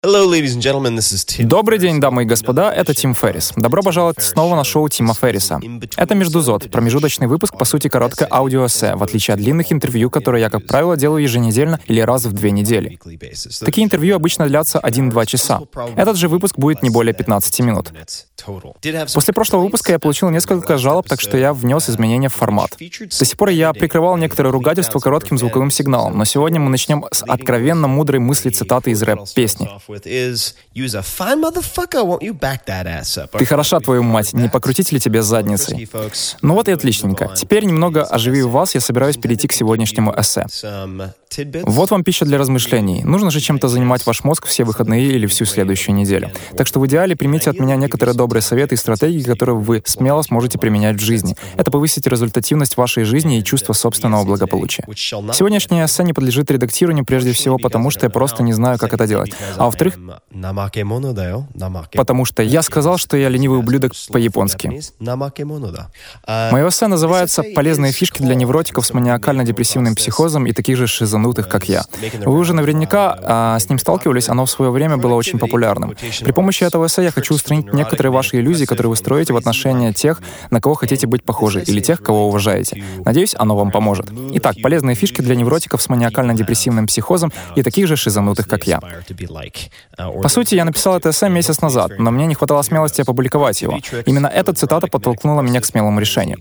Добрый день, дамы и господа, это Тим Феррис. Добро пожаловать снова на шоу Тима Ферриса. Это «Междузод», промежуточный выпуск, по сути, короткое аудиоэссе, в отличие от длинных интервью, которые я, как правило, делаю еженедельно или раз в 2 недели. Такие интервью обычно длятся 1-2 часа. Этот же выпуск будет не более 15 минут. После прошлого выпуска я получил несколько жалоб, так что я внес изменения в формат. До сих пор я прикрывал некоторые ругательства коротким звуковым сигналом, но сегодня мы начнем с откровенно мудрой мысли цитаты из рэп-песни. «Ты хороша, твою мать, не покрутить ли тебе задницей?» Ну вот и отличненько. Теперь, немного оживив вас, я собираюсь перейти к сегодняшнему эссе. Вот вам пища для размышлений. Нужно же чем-то занимать ваш мозг все выходные или всю следующую неделю. Так что в идеале примите от меня некоторые добрые советы и стратегии, которые вы смело сможете применять в жизни. Это повысит результативность вашей жизни и чувство собственного благополучия. Сегодняшнее эссе не подлежит редактированию прежде всего потому, что я просто не знаю, как это делать. А во-вторых, потому что я сказал, что я ленивый ублюдок по-японски. Мое эссе называется «Полезные фишки для невротиков с маниакально-депрессивным психозом и таких же шизанутых, как я». Вы уже наверняка с ним сталкивались, оно в свое время было очень популярным. При помощи этого эссе я хочу устранить некоторые ваши иллюзии, которые вы строите в отношении тех, на кого хотите быть похожи, или тех, кого уважаете. Надеюсь, оно вам поможет. Итак, полезные фишки для невротиков с маниакально-депрессивным психозом и таких же шизанутых, как я. По сути, я написал это эссе месяц назад, но мне не хватало смелости опубликовать его. Именно эта цитата подтолкнула меня к смелому решению.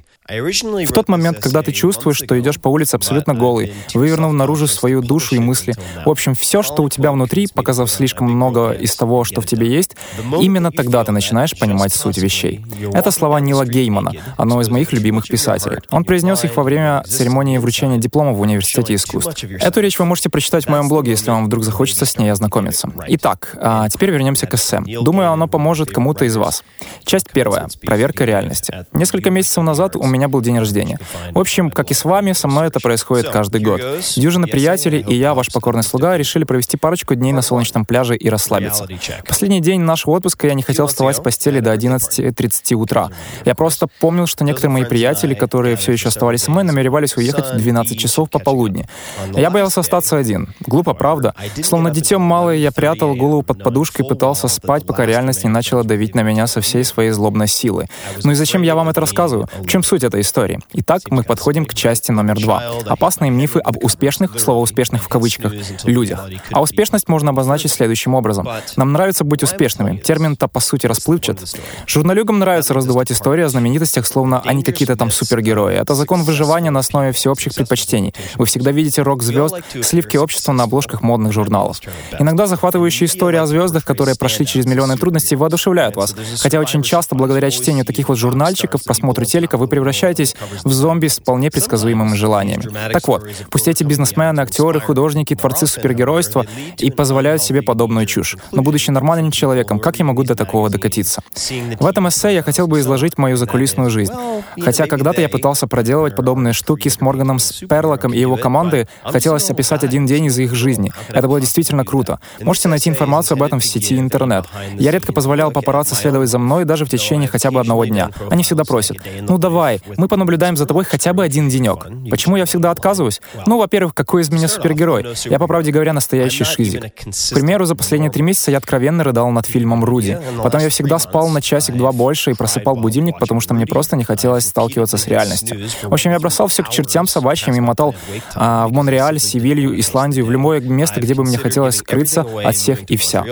В тот момент, когда ты чувствуешь, что идешь по улице абсолютно голый, вывернув наружу свою душу и мысли, в общем, все, что у тебя внутри, показав слишком много из того, что в тебе есть, именно тогда ты начинаешь понимать суть вещей. Это слова Нила Геймана, одного из моих любимых писателей. Он произнес их во время церемонии вручения диплома в Университете искусств. Эту речь вы можете прочитать в моем блоге, если вам вдруг захочется с ней ознакомиться. Итак, теперь вернемся к эссе. Думаю, оно поможет кому-то из вас. Часть 1. Проверка реальности. Несколько месяцев назад у меня был день рождения. В общем, как и с вами, со мной это происходит каждый год. Дюжина приятелей и я, ваш покорный слуга, решили провести парочку дней на солнечном пляже и расслабиться. Последний день нашего отпуска я не хотел вставать с постели до 11:30 утра. Я просто помнил, что некоторые мои приятели, которые все еще оставались со мной, намеревались уехать в 12 часов пополудни. Я боялся остаться один. Глупо, правда? Словно дитё малое, я прятал голову под подушкой и пытался спать, пока реальность не начала давить на меня со всей своей злобной силой. Ну и зачем я вам это рассказываю? В чем суть этой истории? Итак, мы подходим к части номер 2. Опасные мифы об успешных, слово «успешных» в кавычках, людях. А успешность можно обозначить следующим образом. Нам нравится быть успешными. Термин-то, по сути, расплывчат. Журналюгам нравится раздувать истории о знаменитостях, словно они какие-то там супергерои. Это закон выживания на основе всеобщих предпочтений. Вы всегда видите рок-звезд, сливки общества на обложках модных журналов. Иногда захватывающие истории о звездах, которые прошли через миллионы трудностей, воодушевляют вас. Хотя очень часто, благодаря чтению таких вот журнальчиков, просмотру телека, вы превращаетесь в зомби с вполне предсказуемыми желаниями. Так вот, пусть эти бизнесмены, актеры, художники, творцы супергеройства и позволяют себе подобную чушь. Но будучи нормальным человеком, как я могу до такого докатиться? В этом эссе я хотел бы изложить мою закулисную жизнь. Хотя когда-то я пытался проделывать подобные штуки с Морганом Сперлоком и его командой, хотелось описать один день из их жизни. Это было действительно круто. Можете найти информацию об этом в сети интернет. Я редко позволял папарацци следовать за мной даже в течение хотя бы одного дня. Они всегда просят: «Ну давай, мы понаблюдаем за тобой хотя бы один денек». Почему я всегда отказываюсь? Ну, во-первых, какой из меня супергерой? Я, по правде говоря, настоящий шизик. К примеру, за последние 3 месяца я откровенно рыдал над фильмом «Руди». Потом я всегда спал на часик-два больше и просыпал будильник, потому что мне просто не хотелось сталкиваться с реальностью. В общем, я бросал все к чертям собачьим и мотал в Монреаль, Севилью, Исландию, в любое место, где бы мне хотелось скрыться от всех и вся.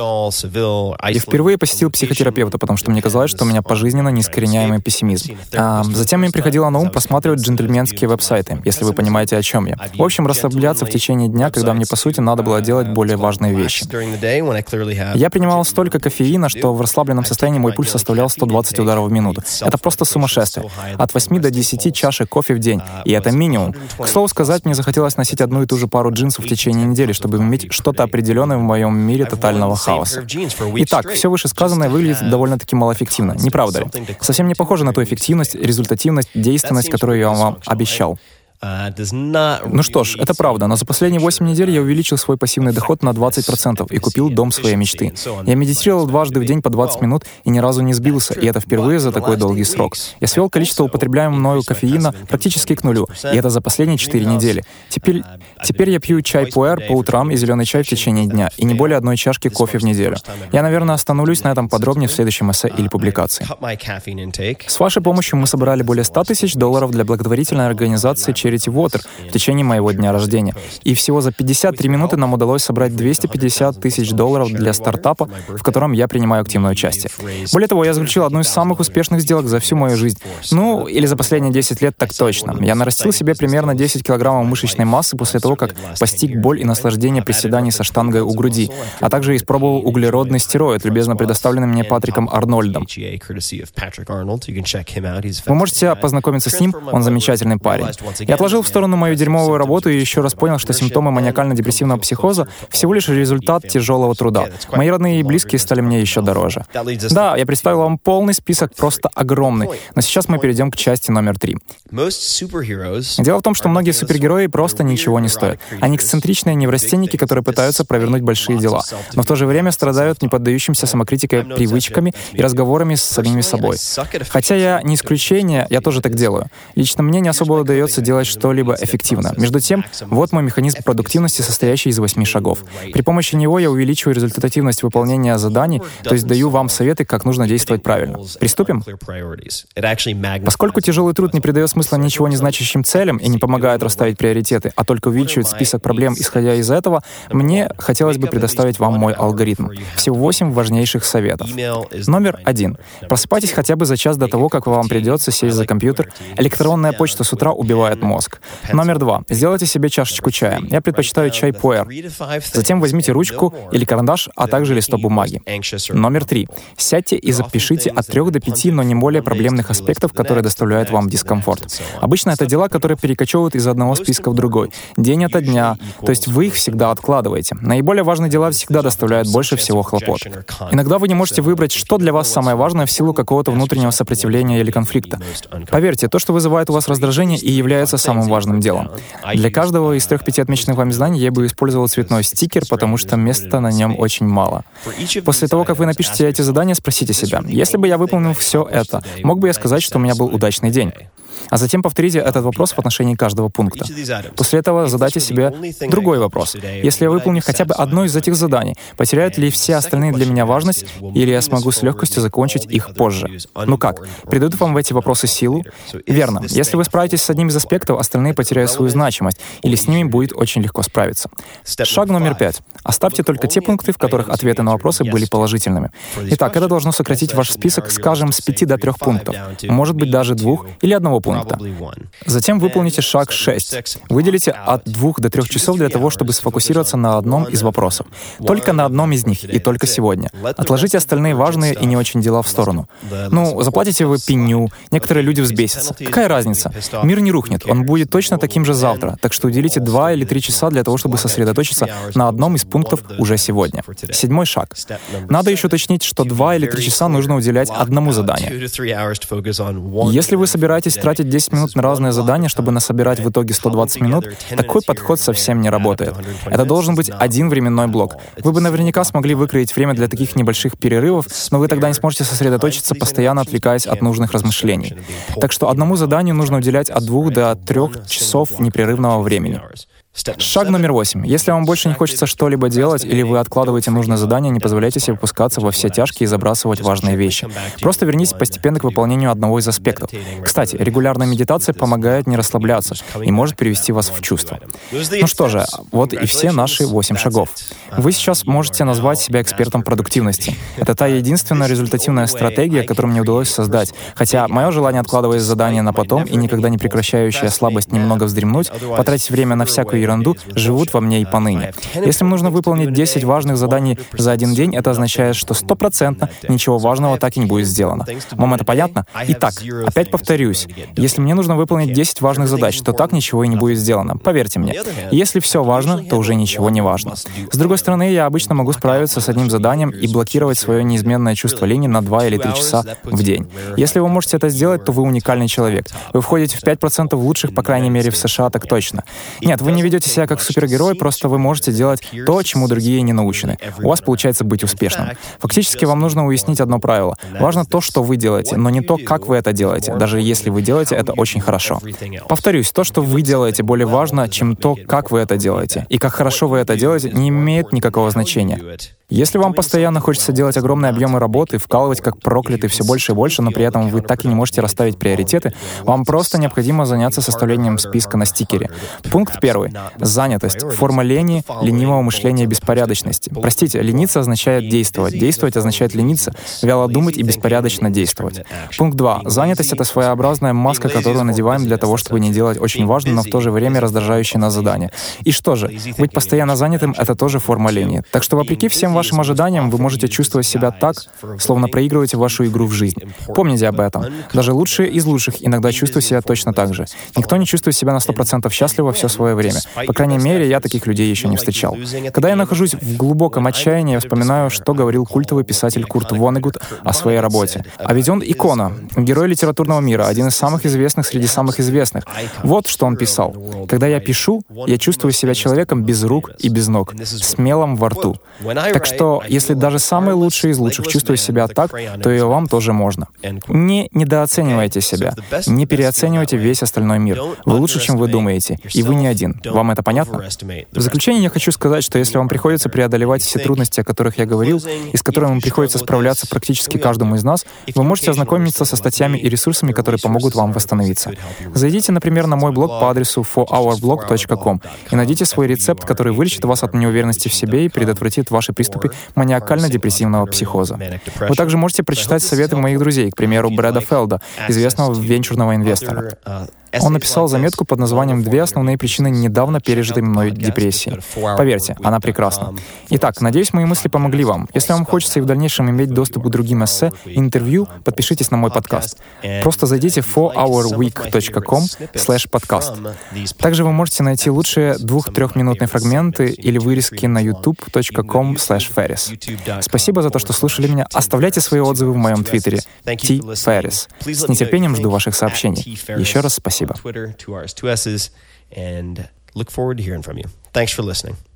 Я впервые посетил психотерапевта, потому что мне казалось, что у меня пожизненно неискореняемый пессимизм. Затем мне приходило на ум просматривать джентльменские веб-сайты, если вы понимаете, о чем я. В общем, расслабляться в течение дня, когда мне, по сути, надо было делать более важные вещи. Я принимал столько кофеина, что в расслабленном состоянии мой пульс составлял 120 ударов в минуту. Это просто сумасшествие. От 8 до 10 чашек кофе в день. И это минимум. К слову сказать, мне захотелось носить одну и ту же пару джинсов в течение недели, чтобы иметь что-то определенное в моем мире тотального хаоса. Итак, все вышесказанное выглядит довольно-таки малоэффективно, не правда ли? Совсем не похоже на ту эффективность, результативность, действенность, которую я вам обещал. Ну что ж, это правда, но за последние 8 недель я увеличил свой пассивный доход на 20% и купил дом своей мечты. Я медитировал дважды в день по 20 минут и ни разу не сбился, и это впервые за такой долгий срок. Я свел количество употребляемого мною кофеина практически к нулю, и это за последние 4 недели. Теперь я пью чай пуэр по утрам и зеленый чай в течение дня, и не более 1 чашки кофе в неделю. Я, наверное, остановлюсь на этом подробнее в следующем эссе или публикации. С вашей помощью мы собрали более $100 тысяч для благотворительной организации Charity Water в течение моего дня рождения. И всего за 53 минуты нам удалось собрать $250 тысяч для стартапа, в котором я принимаю активное участие. Более того, я заключил одну из самых успешных сделок за всю мою жизнь. Ну, или за последние 10 лет так точно. Я нарастил себе примерно 10 килограммов мышечной массы после того, как постиг боль и наслаждение приседаний со штангой у груди, а также испробовал углеродный стероид, любезно предоставленный мне Патриком Арнольдом. Вы можете познакомиться с ним, он замечательный парень. Я отложил в сторону мою дерьмовую работу и еще раз понял, что симптомы маниакально-депрессивного психоза всего лишь результат тяжелого труда. Мои родные и близкие стали мне еще дороже. Да, я представил вам полный список, просто огромный. Но сейчас мы перейдем к части номер 3. Дело в том, что многие супергерои просто ничего не стоят. Они эксцентричные неврастенники, которые пытаются провернуть большие дела, но в то же время страдают неподдающимся самокритикой привычками и разговорами с самими собой. Хотя я не исключение, я тоже так делаю. Лично мне не особо удается делать что-либо эффективно. Между тем, вот мой механизм продуктивности, состоящий из 8 шагов. При помощи него я увеличиваю результативность выполнения заданий, то есть даю вам советы, как нужно действовать правильно. Приступим? Поскольку тяжелый труд не придает смысла ничего не значащим целям и не помогает расставить приоритеты, а только увеличивает список проблем, исходя из этого, мне хотелось бы предоставить вам мой алгоритм. Всего 8 важнейших советов. Номер 1. Просыпайтесь хотя бы за час до того, как вам придется сесть за компьютер. Электронная почта с утра убивает мозг. Номер 2. Сделайте себе чашечку чая. Я предпочитаю чай пуэр. Затем возьмите ручку или карандаш, а также листок бумаги. Номер 3. Сядьте и запишите от 3 до 5, но не более проблемных аспектов, которые доставляют вам дискомфорт. Обычно это дела, которые перекочевывают из одного списка в другой, день ото дня, то есть вы их всегда откладываете. Наиболее важные дела всегда доставляют больше всего хлопот. Иногда вы не можете выбрать, что для вас самое важное в силу какого-то внутреннего сопротивления или конфликта. Поверьте, то, что вызывает у вас раздражение, и является самым важным делом. Для каждого из 3-5 отмеченных вами заданий я бы использовал цветной стикер, потому что места на нем очень мало. После того, как вы напишете эти задания, спросите себя, если бы я выполнил все это, мог бы я сказать, что у меня был удачный день? А затем повторите этот вопрос в отношении каждого пункта. После этого задайте себе другой вопрос. Если я выполню хотя бы одно из этих заданий, потеряют ли все остальные для меня важность, или я смогу с легкостью закончить их позже? Ну как, придают вам в эти вопросы силу? Верно. Если вы справитесь с одним из аспектов, остальные потеряют свою значимость, или с ними будет очень легко справиться. Шаг номер 5. Оставьте только те пункты, в которых ответы на вопросы были положительными. Итак, это должно сократить ваш список, скажем, с 5 до 3 пунктов, может быть, даже 2 или 1 пункта. Затем выполните шаг 6. Выделите от 2 до 3 часов для того, чтобы сфокусироваться на одном из вопросов. Только на одном из них, и только сегодня. Отложите остальные важные и не очень дела в сторону. Ну, заплатите вы пеню, некоторые люди взбесятся. Какая разница? Мир не рухнет, он будет точно таким же завтра, так что уделите 2 или 3 часа для того, чтобы сосредоточиться на одном из пунктов уже сегодня. 7 шаг. Надо еще уточнить, что 2 или 3 часа нужно уделять одному заданию. Если вы собираетесь тратить 10 минут на разные задания, чтобы насобирать в итоге 120 минут, такой подход совсем не работает. Это должен быть один временной блок. Вы бы наверняка смогли выкроить время для таких небольших перерывов, но вы тогда не сможете сосредоточиться, постоянно отвлекаясь от нужных размышлений. Так что одному заданию нужно уделять от 2 до 3 часов непрерывного времени. Шаг номер 8. Если вам больше не хочется что-либо делать, или вы откладываете нужное задание, не позволяйте себе опускаться во все тяжкие и забрасывать важные вещи. Просто вернитесь постепенно к выполнению одного из аспектов. Кстати, регулярная медитация помогает не расслабляться и может привести вас в чувство. Ну что же, вот и все наши 8 шагов. Вы сейчас можете назвать себя экспертом продуктивности. Это та единственная результативная стратегия, которую мне удалось создать. Хотя мое желание откладывать задания на потом и никогда не прекращающая слабость немного вздремнуть, потратить время на всякую ерунду, живут во мне и поныне. Если мне нужно выполнить 10 важных заданий за один день, это означает, что 100% ничего важного так и не будет сделано. Вам это понятно? Итак, опять повторюсь, если мне нужно выполнить 10 важных задач, то так ничего и не будет сделано. Поверьте мне. Если все важно, то уже ничего не важно. С другой стороны, я обычно могу справиться с одним заданием и блокировать свое неизменное чувство лени на 2 или 3 часа в день. Если вы можете это сделать, то вы уникальный человек. Вы входите в 5% лучших, по крайней мере, в США, так точно. Нет, вы не ведете себя как супергерой, просто вы можете делать то, чему другие не научены. У вас получается быть успешным. Фактически вам нужно уяснить одно правило. Важно то, что вы делаете, но не то, как вы это делаете, даже если вы делаете это очень хорошо. Повторюсь, то, что вы делаете, более важно, чем то, как вы это делаете. И как хорошо вы это делаете, не имеет никакого значения. Если вам постоянно хочется делать огромные объемы работы, вкалывать как проклятый все больше и больше, но при этом вы так и не можете расставить приоритеты, вам просто необходимо заняться составлением списка на стикере. Пункт 1. Занятость. Форма лени, ленивого мышления и беспорядочности. Простите, лениться означает действовать. Действовать означает лениться, вяло думать и беспорядочно действовать. Пункт 2. Занятость — это своеобразная маска, которую надеваем для того, чтобы не делать очень важное, но в то же время раздражающее нас задание. И что же? Быть постоянно занятым — это тоже форма лени. Так что, вопреки всем вашим ожиданиям, вы можете чувствовать себя так, словно проигрываете вашу игру в жизнь. Помните об этом. Даже лучшие из лучших иногда чувствуют себя точно так же. Никто не чувствует себя на 100% счастливо все свое время. По крайней мере, я таких людей еще не встречал. Когда я нахожусь в глубоком отчаянии, я вспоминаю, что говорил культовый писатель Курт Воннегут о своей работе. А ведь он икона, герой литературного мира, один из самых известных среди самых известных. Вот что он писал. «Когда я пишу, я чувствую себя человеком без рук и без ног, с мелом во рту. Так что, если даже самые лучшие из лучших чувствуют себя так, то и вам тоже можно. Не недооценивайте себя, не переоценивайте весь остальной мир. Вы лучше, чем вы думаете, и вы не один. Вам это понятно? В заключение я хочу сказать, что если вам приходится преодолевать все трудности, о которых я говорил, и с которыми приходится справляться практически каждому из нас, вы можете ознакомиться со статьями и ресурсами, которые помогут вам восстановиться. Зайдите, например, на мой блог по адресу forourblog.com и найдите свой рецепт, который вылечит вас от неуверенности в себе и предотвратит ваши приступы маниакально-депрессивного психоза. Вы также можете прочитать советы моих друзей, к примеру, Брэда Фелда, известного венчурного инвестора. Он написал заметку под названием «2 основные причины недавно пережитой мной депрессии». Поверьте, она прекрасна. Итак, надеюсь, мои мысли помогли вам. Если вам хочется и в дальнейшем иметь доступ к другим эссе и интервью, подпишитесь на мой подкаст. Просто зайдите в 4hourweek.com/podcast. Также вы можете найти лучшие 2-3-минутные фрагменты или вырезки на youtube.com/ferris. Спасибо за то, что слушали меня. Оставляйте свои отзывы в моем твиттере @tferris. С нетерпением жду ваших сообщений. Еще раз спасибо. And look forward to hearing from you. Thanks for listening.